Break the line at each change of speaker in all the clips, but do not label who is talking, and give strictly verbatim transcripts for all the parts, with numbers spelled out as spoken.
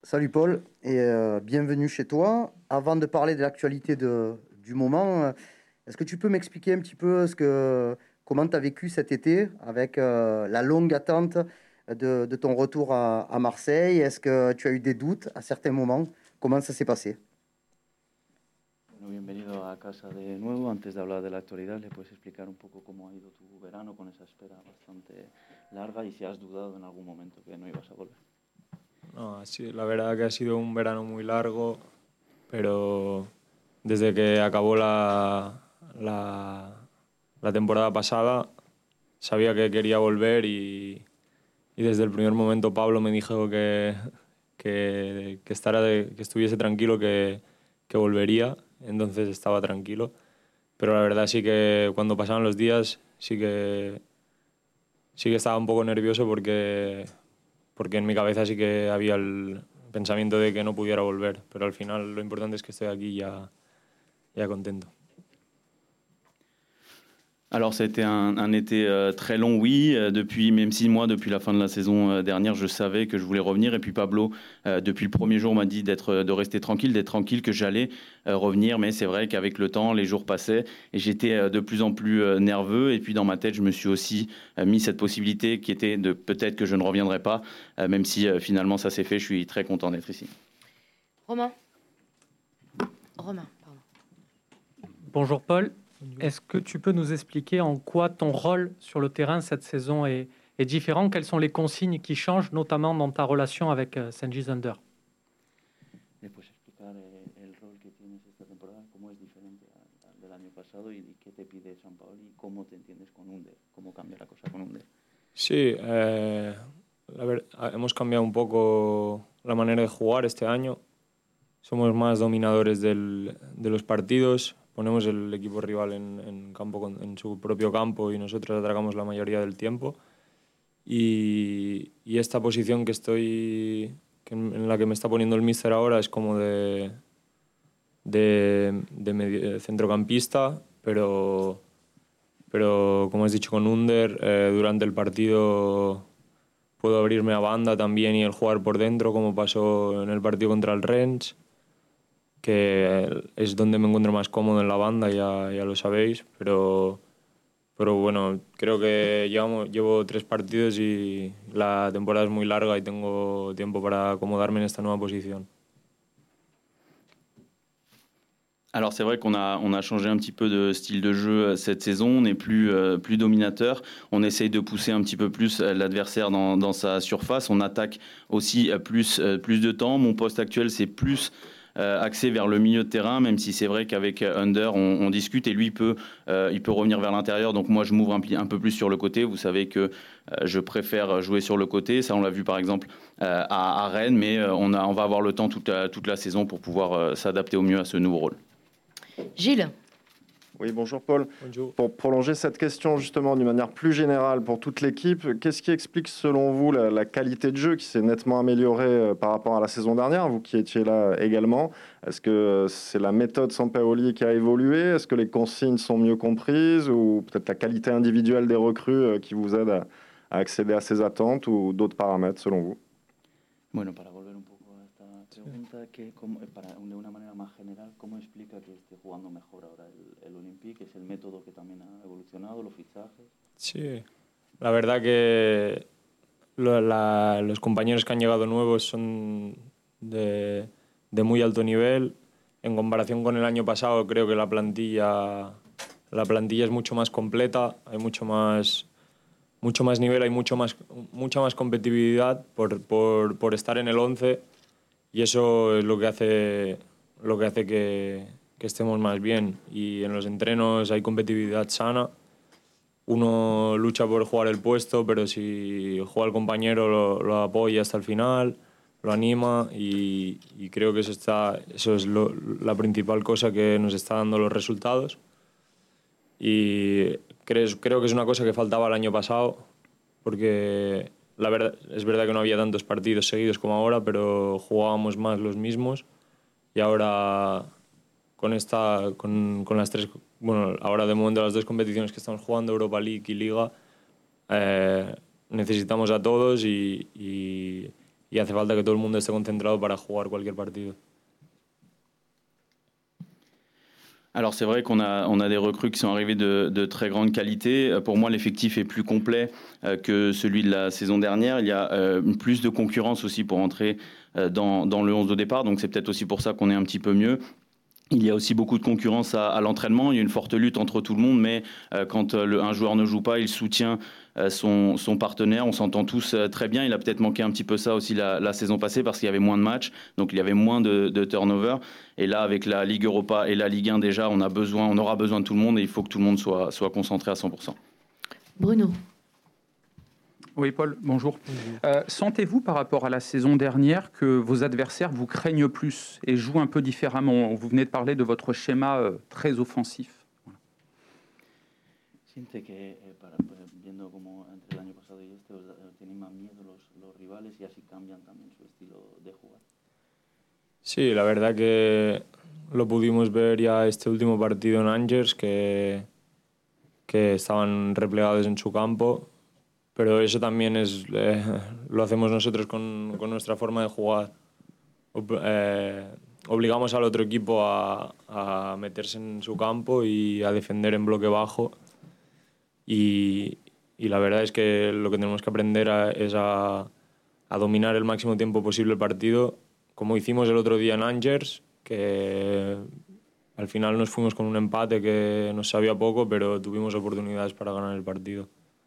Salut Paul et euh, bienvenue chez toi. Avant de parler de l'actualité de- du moment, euh, est-ce que tu peux m'expliquer un petit peu ce que, comment tu as vécu cet été avec euh, la longue attente de, de ton retour à, à Marseille? Est-ce que tu as eu des doutes à certains moments? Comment ça s'est passé?
Bueno, bienvenido a casa de nuevo. Antes de hablar de la actualidad, ¿le puedes explicar un poco cómo ha ido tu verano con esa espera bastante larga y si has dudado en algún momento que no ibas a volver?
No, sí, la verdad que ha sido un verano muy largo, pero desde que acabó la, la, la temporada pasada sabía que quería volver y, y desde el primer momento Pablo me dijo que, que, que, estará de- que estuviese tranquilo, que, que volvería, entonces estaba tranquilo. Pero la verdad sí que cuando pasaban los días sí que, sí que estaba un poco nervioso porque, porque en mi cabeza sí que había el pensamiento de que no pudiera volver, pero al final lo importante es que estoy aquí ya, ya contento.
Alors, c'était un, un été euh, très long, oui. Euh, depuis, même si moi, depuis la fin de la saison euh, dernière, je savais que je voulais revenir. Et puis Pablo, euh, depuis le premier jour, m'a dit d'être, de rester tranquille, d'être tranquille, que j'allais euh, revenir. Mais c'est vrai qu'avec le temps, les jours passaient et j'étais euh, de plus en plus euh, nerveux. Et puis dans ma tête, je me suis aussi euh, mis cette possibilité qui était de peut-être que je ne reviendrai pas, euh, même si euh, finalement ça s'est fait. Je suis très content d'être ici.
Romain. Romain, pardon.
Bonjour Paul, est-ce que tu peux nous expliquer en quoi ton rôle sur le terrain cette saison est, est différent? Quelles sont les consignes qui changent, notamment dans ta relation avec euh, Cengiz Under?
¿Le puedes explicar eh, el rol que tienes esta temporada, cómo es diferente a- al del año pasado y, y qué te pide San Paolo y cómo te entiendes con Under, cómo cambia la cosa con Under?
Sí, eh, la ver- ah, hemos cambiado un poco la manera de jugar este año. Somos más dominadores del- de los partidos, ponemos el equipo rival en, en campo con- en su propio campo y nosotros atracamos la mayoría del tiempo. Y, y esta posición que estoy, que en, en la que me está poniendo el míster ahora es como de, de, de medio- de centrocampista, pero, pero como has dicho con Under, eh, durante el partido puedo abrirme a banda también y el jugar por dentro, como pasó en el partido contra el Rennes, que es donde me encuentro más cómodo en la banda, ya, ya lo sabéis, pero, pero bueno, creo que llevamos, llevo tres partidos y la temporada es muy larga y tengo tiempo para acomodarme en esta nueva posición.
Alors c'est vrai qu'on a, on a changé un petit peu de style de jeu cette saison, on n'est plus, euh, plus dominateur, on essaye de pousser un petit peu plus l'adversaire dans, dans sa surface, on attaque aussi plus, plus de temps. Mon poste actuel c'est plus euh, axé vers le milieu de terrain, même si c'est vrai qu'avec Under on, on discute et lui il peut, euh, il peut revenir vers l'intérieur, donc moi je m'ouvre un, un peu plus sur le côté. Vous savez que euh, je préfère jouer sur le côté, ça on l'a vu par exemple euh, à, à Rennes, mais on, a, on va avoir le temps toute la, toute la saison pour pouvoir euh, s'adapter au mieux à ce nouveau rôle.
Gilles.
Oui, bonjour Paul.
Bonjour.
Pour prolonger cette question justement d'une manière plus générale pour toute l'équipe, qu'est-ce qui explique selon vous la, la qualité de jeu qui s'est nettement améliorée euh, par rapport à la saison dernière, vous qui étiez là également? Est-ce que euh, c'est la méthode Sampaoli qui a évolué? Est-ce que les consignes sont mieux comprises ou peut-être la qualité individuelle des recrues euh, qui vous aide à, à accéder à ces attentes ou d'autres paramètres selon vous?
Bueno, para volver un poco a esta pregunta, que, como, para, de una manera más general, ¿cómo explica que esté jugando mejor ahora el, el Olympique? ¿Es el método que también ha evolucionado, los fichajes?
Sí, la verdad que lo- la- los compañeros que han llegado nuevos son de, de muy alto nivel. En comparación con el año pasado, creo que la plantilla, la plantilla es mucho más completa, hay mucho más, mucho más nivel, hay mucho más, mucha más competitividad por, por, por estar en el once y eso es lo que hace, lo que, hace que, que estemos más bien. Y en los entrenos hay competitividad sana. Uno lucha por jugar el puesto, pero si juega el compañero lo, lo apoya hasta el final, lo anima y, y creo que eso, está, eso es lo, la principal cosa que nos está dando los resultados. Y creo, creo que es una cosa que faltaba el año pasado, porque la verdad, es verdad que no había tantos partidos seguidos como ahora, pero jugábamos más los mismos y ahora con esta con, con las tres, bueno, ahora de momento las dos competiciones que estamos jugando, Europa League y Liga, eh, necesitamos a todos y, y, y hace falta que todo el mundo esté concentrado para jugar cualquier partido.
Alors c'est vrai qu'on a, on a des recrues qui sont arrivées de, de très grande qualité. Pour moi, l'effectif est plus complet euh, que celui de la saison dernière. Il y a euh, plus de concurrence aussi pour entrer euh, dans, dans le onze de départ, donc c'est peut-être aussi pour ça qu'on est un petit peu mieux. Il y a aussi beaucoup de concurrence à, à l'entraînement. Il y a une forte lutte entre tout le monde, mais euh, quand euh, le, un joueur ne joue pas, il soutient euh, son, son partenaire. On s'entend tous euh, très bien. Il a peut-être manqué un petit peu ça aussi la, la saison passée parce qu'il y avait moins de matchs, donc il y avait moins de, de turnover. Et là, avec la Ligue Europa et la Ligue un déjà, on a besoin, on aura besoin de tout le monde et il faut que tout le monde soit, soit concentré à cent pour cent.
Bruno.
Oui, Paul, bonjour. Euh, sentez-vous par rapport à la saison dernière que vos adversaires vous craignent plus et jouent un peu différemment? Vous venez de parler de votre schéma euh, très offensif. Voilà.
Siente que eh, para, viendo como entre el año pasado y este tienen más miedo los, los rivales y así cambian también su estilo de jugar.
Sí, la verdad que lo pudimos ver ya este último partido en Angers, que, que estaban replegados en su campo. Pero eso también es, eh, lo hacemos nosotros con, con nuestra forma de jugar. Eh, obligamos al otro equipo a, a meterse en su campo y a defender en bloque bajo. Y, y la verdad es que lo que tenemos que aprender a, es a, a dominar el máximo tiempo posible el partido, como hicimos el otro día en Angers, que al final nos fuimos con un empate que nos sabía poco, pero tuvimos oportunidades para ganar el partido.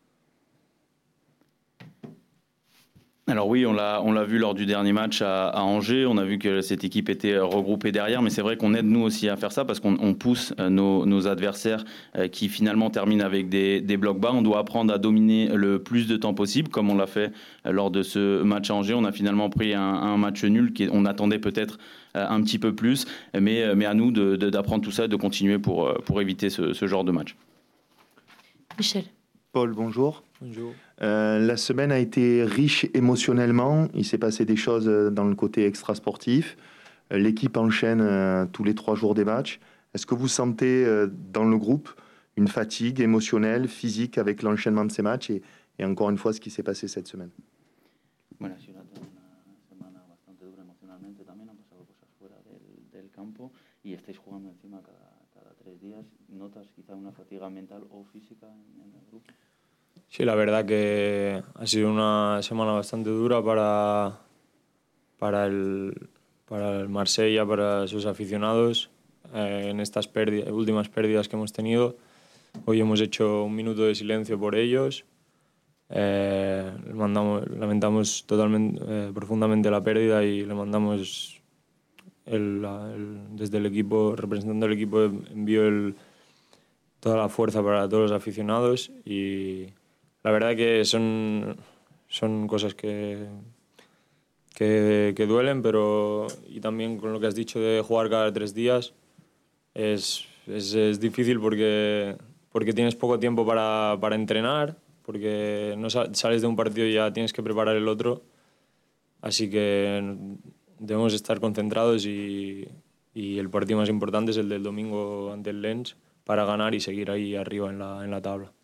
Alors oui, on l'a, on l'a vu lors du dernier match à, à Angers, on a vu que cette équipe était regroupée derrière, mais c'est vrai qu'on aide nous aussi à faire ça parce qu'on on pousse nos, nos adversaires qui finalement terminent avec des, des blocs bas. On doit apprendre à dominer le plus de temps possible, comme on l'a fait lors de ce match à Angers. On a finalement pris un, un match nul, qui, on attendait peut-être un petit peu plus, mais, mais à nous de, de, d'apprendre tout ça et de continuer pour, pour éviter ce, ce genre de match.
Michel.
Paul, bonjour.
Bonjour.
Euh, la semaine a été riche émotionnellement. Il s'est passé des choses dans le côté extra-sportif. Euh, l'équipe enchaîne euh, tous les trois jours des matchs. Est-ce que vous sentez euh, dans le groupe une fatigue émotionnelle, physique avec l'enchaînement de ces matchs et, et encore une fois ce qui s'est passé cette semaine?
Bueno, ha sido una semana bastante dura emocionalmente también, han pasado cosas fuera del, del campo y estáis jugando encima cada, cada tres días. ¿Notas quizá una fatiga mental o física en, en el grupo?
Sí, la verdad que ha sido una semana bastante dura para, para, el, para el Marsella, para sus aficionados, eh, en estas pérdidas, últimas pérdidas que hemos tenido. Hoy hemos hecho un minuto de silencio por ellos. Eh, mandamos, lamentamos totalmente, eh, profundamente la pérdida y le mandamos el, el, desde el equipo, representando al equipo, envío el, toda la fuerza para todos los aficionados y la verdad que son, son cosas que, que, que duelen, pero y también con lo que has dicho de jugar cada tres días es, es, es difícil porque, porque tienes poco tiempo para, para entrenar, porque no sales de un partido y ya tienes que preparar el otro, así que debemos estar concentrados y, y el partido más importante es el del domingo ante el Lens para ganar y seguir ahí arriba en la, en la tabla.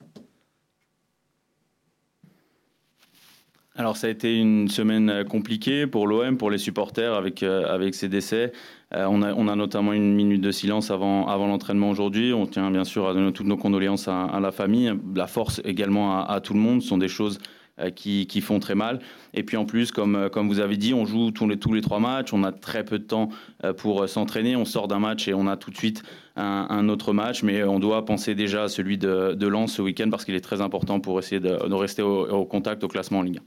Alors ça a été une semaine compliquée pour l'O M, pour les supporters avec, euh, avec ces décès. Euh, on, a, on a notamment une minute de silence avant, avant l'entraînement aujourd'hui. On tient bien sûr à donner toutes nos condoléances à, à la famille, la force également à, à tout le monde. Ce sont des choses euh, qui, qui font très mal. Et puis en plus, comme, comme vous avez dit, on joue tous les, tous les trois matchs. On a très peu de temps euh, pour s'entraîner. On sort d'un match et on a tout de suite un, un autre match. Mais on doit penser déjà à celui de, de Lens ce week-end parce qu'il est très important pour essayer de, de rester au, au contact, au classement en Ligue un.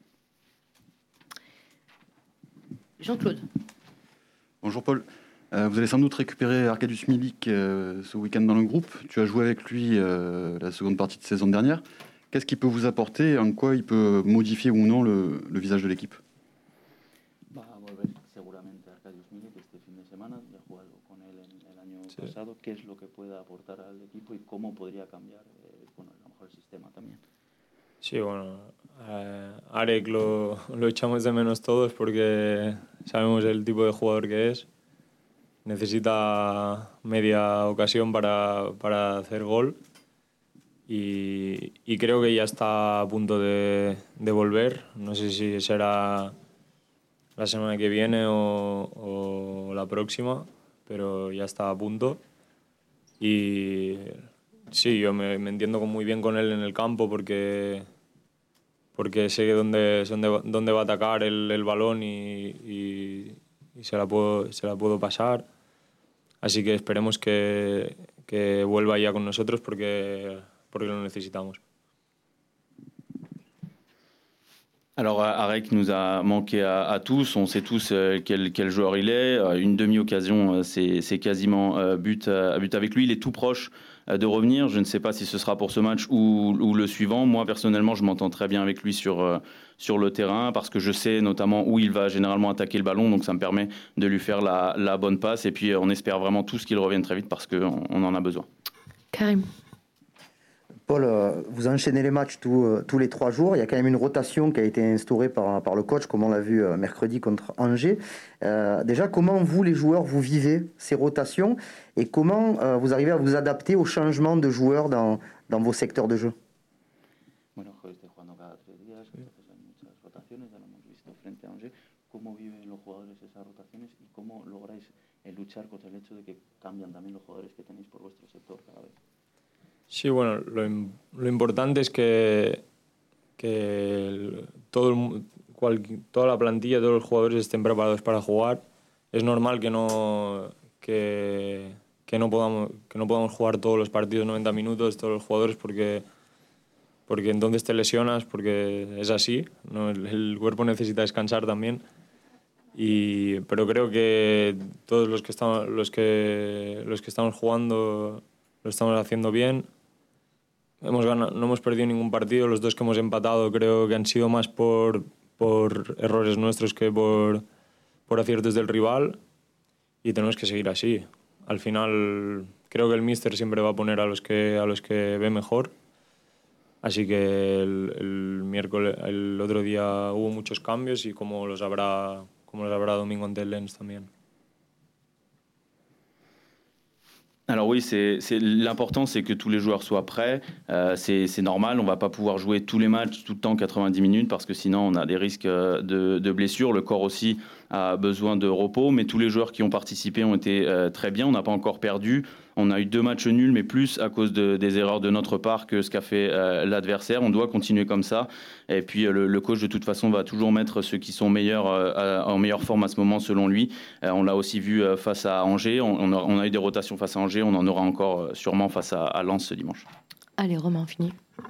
Jean-Claude.
Bonjour Paul. Euh, vous allez sans doute récupérer Arkadiusz Milik euh, ce week-end dans le groupe. Tu as joué avec lui euh, la seconde partie de saison dernière. Qu'est-ce qu'il peut vous apporter et en quoi il peut modifier ou non le, le visage de l'équipe?
Va a volver seguramente Arkadiusz Milik este fin de semana. Ya he jugado con él el año pasado. ¿Qué es lo que puede aportar al equipo y cómo podría cambiar eh, bueno, a lo mejor el sistema también?
Sí, bueno, eh, Arek lo, lo echamos de menos todos porque sabemos el tipo de jugador que es. Necesita media ocasión para, para hacer gol y, y creo que ya está a punto de, de volver. No sé si será la semana que viene o, o la próxima, pero ya está a punto. Y sí, yo me, me entiendo muy bien con él en el campo porque, porque sé dónde, dónde, dónde va a atacar el, el balón y, y, y se, la puedo, se la puedo pasar. Así que esperemos que, que vuelva ya con nosotros porque, porque lo necesitamos.
Alors Arek nous a manqué à, à tous, on sait tous euh, quel, quel joueur il est, euh, une demi-occasion euh, c'est, c'est quasiment euh, but, euh, but avec lui, il est tout proche euh, de revenir, je ne sais pas si ce sera pour ce match ou, ou le suivant, moi personnellement je m'entends très bien avec lui sur, euh, sur le terrain parce que je sais notamment où il va généralement attaquer le ballon, donc ça me permet de lui faire la, la bonne passe et puis on espère vraiment tous qu'il revienne très vite parce qu'on on en a besoin.
Karim.
Paul, vous enchaînez les matchs tous, tous les trois jours. Il y a quand même une rotation qui a été instaurée par, par le coach, comme on l'a vu mercredi contre Angers. Euh, déjà, comment vous, les joueurs, vous vivez ces rotations et comment euh, vous arrivez à vous adapter aux changements de joueurs dans, dans vos secteurs de jeu?
Bueno, estoy jugando cada tres días, entonces hay muchas rotaciones, ya lo hemos visto frente a Angers. ¿Cómo viven los jugadores esas rotaciones y cómo lográis luchar contra el hecho de que cambian también los jugadores que tenéis por vuestro sector cada vez?
Sí, bueno, lo, lo importante es que, que el, todo el, cual, toda la plantilla, todos los jugadores estén preparados para jugar. Es normal que no, que, que no, podamos, que no podamos jugar todos los partidos noventa minutos, todos los jugadores, porque, porque entonces te lesionas, porque es así, ¿no? el, el cuerpo necesita descansar también. Y, pero creo que todos los que, estamos, los, que, los que estamos jugando lo estamos haciendo bien. Hemos ganado, no hemos perdido ningún partido. Los dos que hemos empatado creo que han sido más por, por errores nuestros que por, por aciertos del rival. Y tenemos que seguir así. Al final creo que el míster siempre va a poner a los que, a los que ve mejor. Así que el, el miércoles, el otro día hubo muchos cambios y como los habrá, como los habrá domingo ante el Lens también.
Alors oui, c'est, c'est, l'important c'est que tous les joueurs soient prêts, euh, c'est, c'est normal, on ne va pas pouvoir jouer tous les matchs tout le temps quatre-vingt-dix minutes parce que sinon on a des risques de, de blessures, le corps aussi a besoin de repos, mais tous les joueurs qui ont participé ont été euh, très bien, on n'a pas encore perdu, on a eu deux matchs nuls mais plus à cause de, des erreurs de notre part que ce qu'a fait euh, l'adversaire, on doit continuer comme ça et puis euh, le, le coach de toute façon va toujours mettre ceux qui sont meilleurs, euh, en meilleure forme à ce moment selon lui, euh, on l'a aussi vu euh, face à Angers, on, on, a, on a eu des rotations face à Angers, on en aura encore euh, sûrement face à, à Lens ce dimanche.
Allez Romain, fini.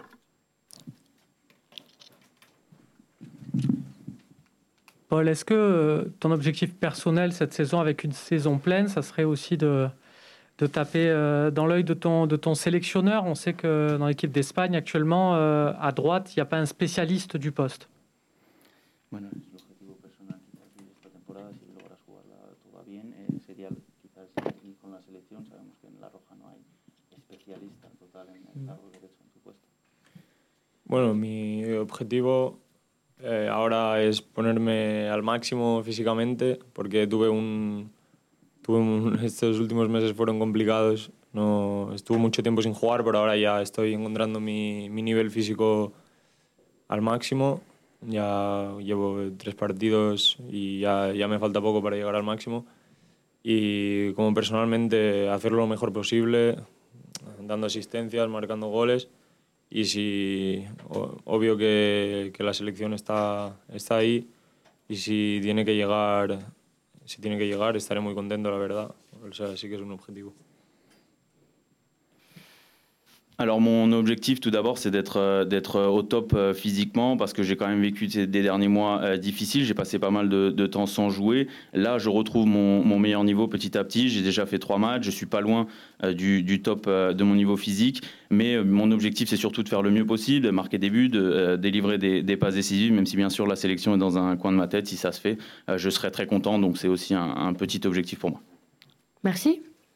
Paul, est-ce que ton objectif personnel cette saison avec une saison pleine, ça serait aussi de, de taper dans l'œil de ton, de ton sélectionneur? On sait que dans l'équipe d'Espagne actuellement, à droite, il n'y a pas un spécialiste du poste.
Bueno, l'objectif personnel esta temporada, si logras jugarla toda bien, sería quizás aquí con la selección, sabemos que en La Roja no hay especialista total en el lado derecho en tu puesto.
Bueno, mi objetivo Eh, ahora es ponerme al máximo físicamente porque tuve un, tuve un, estos últimos meses fueron complicados, no, estuve mucho tiempo sin jugar, pero ahora ya estoy encontrando mi, mi nivel físico al máximo, ya llevo tres partidos y ya, ya me falta poco para llegar al máximo y como personalmente hacerlo lo mejor posible, dando asistencias, marcando goles. Y si, obvio que, que la selección está, está ahí y si tiene que llegar, si tiene que llegar estaré muy contento, la verdad. O sea, sí que es un objetivo.
Alors mon objectif tout d'abord c'est d'être, d'être au top physiquement parce que j'ai quand même vécu des derniers mois difficiles, j'ai passé pas mal de, de temps sans jouer. Là je retrouve mon, mon meilleur niveau petit à petit, j'ai déjà fait trois matchs, je suis pas loin du, du top de mon niveau physique, mais mon objectif c'est surtout de faire le mieux possible, de marquer des buts, de euh, délivrer des, des passes décisives, même si bien sûr la sélection est dans un coin de ma tête, si ça se fait, euh, je serai très content, donc c'est aussi un, un petit objectif pour moi.
Merci.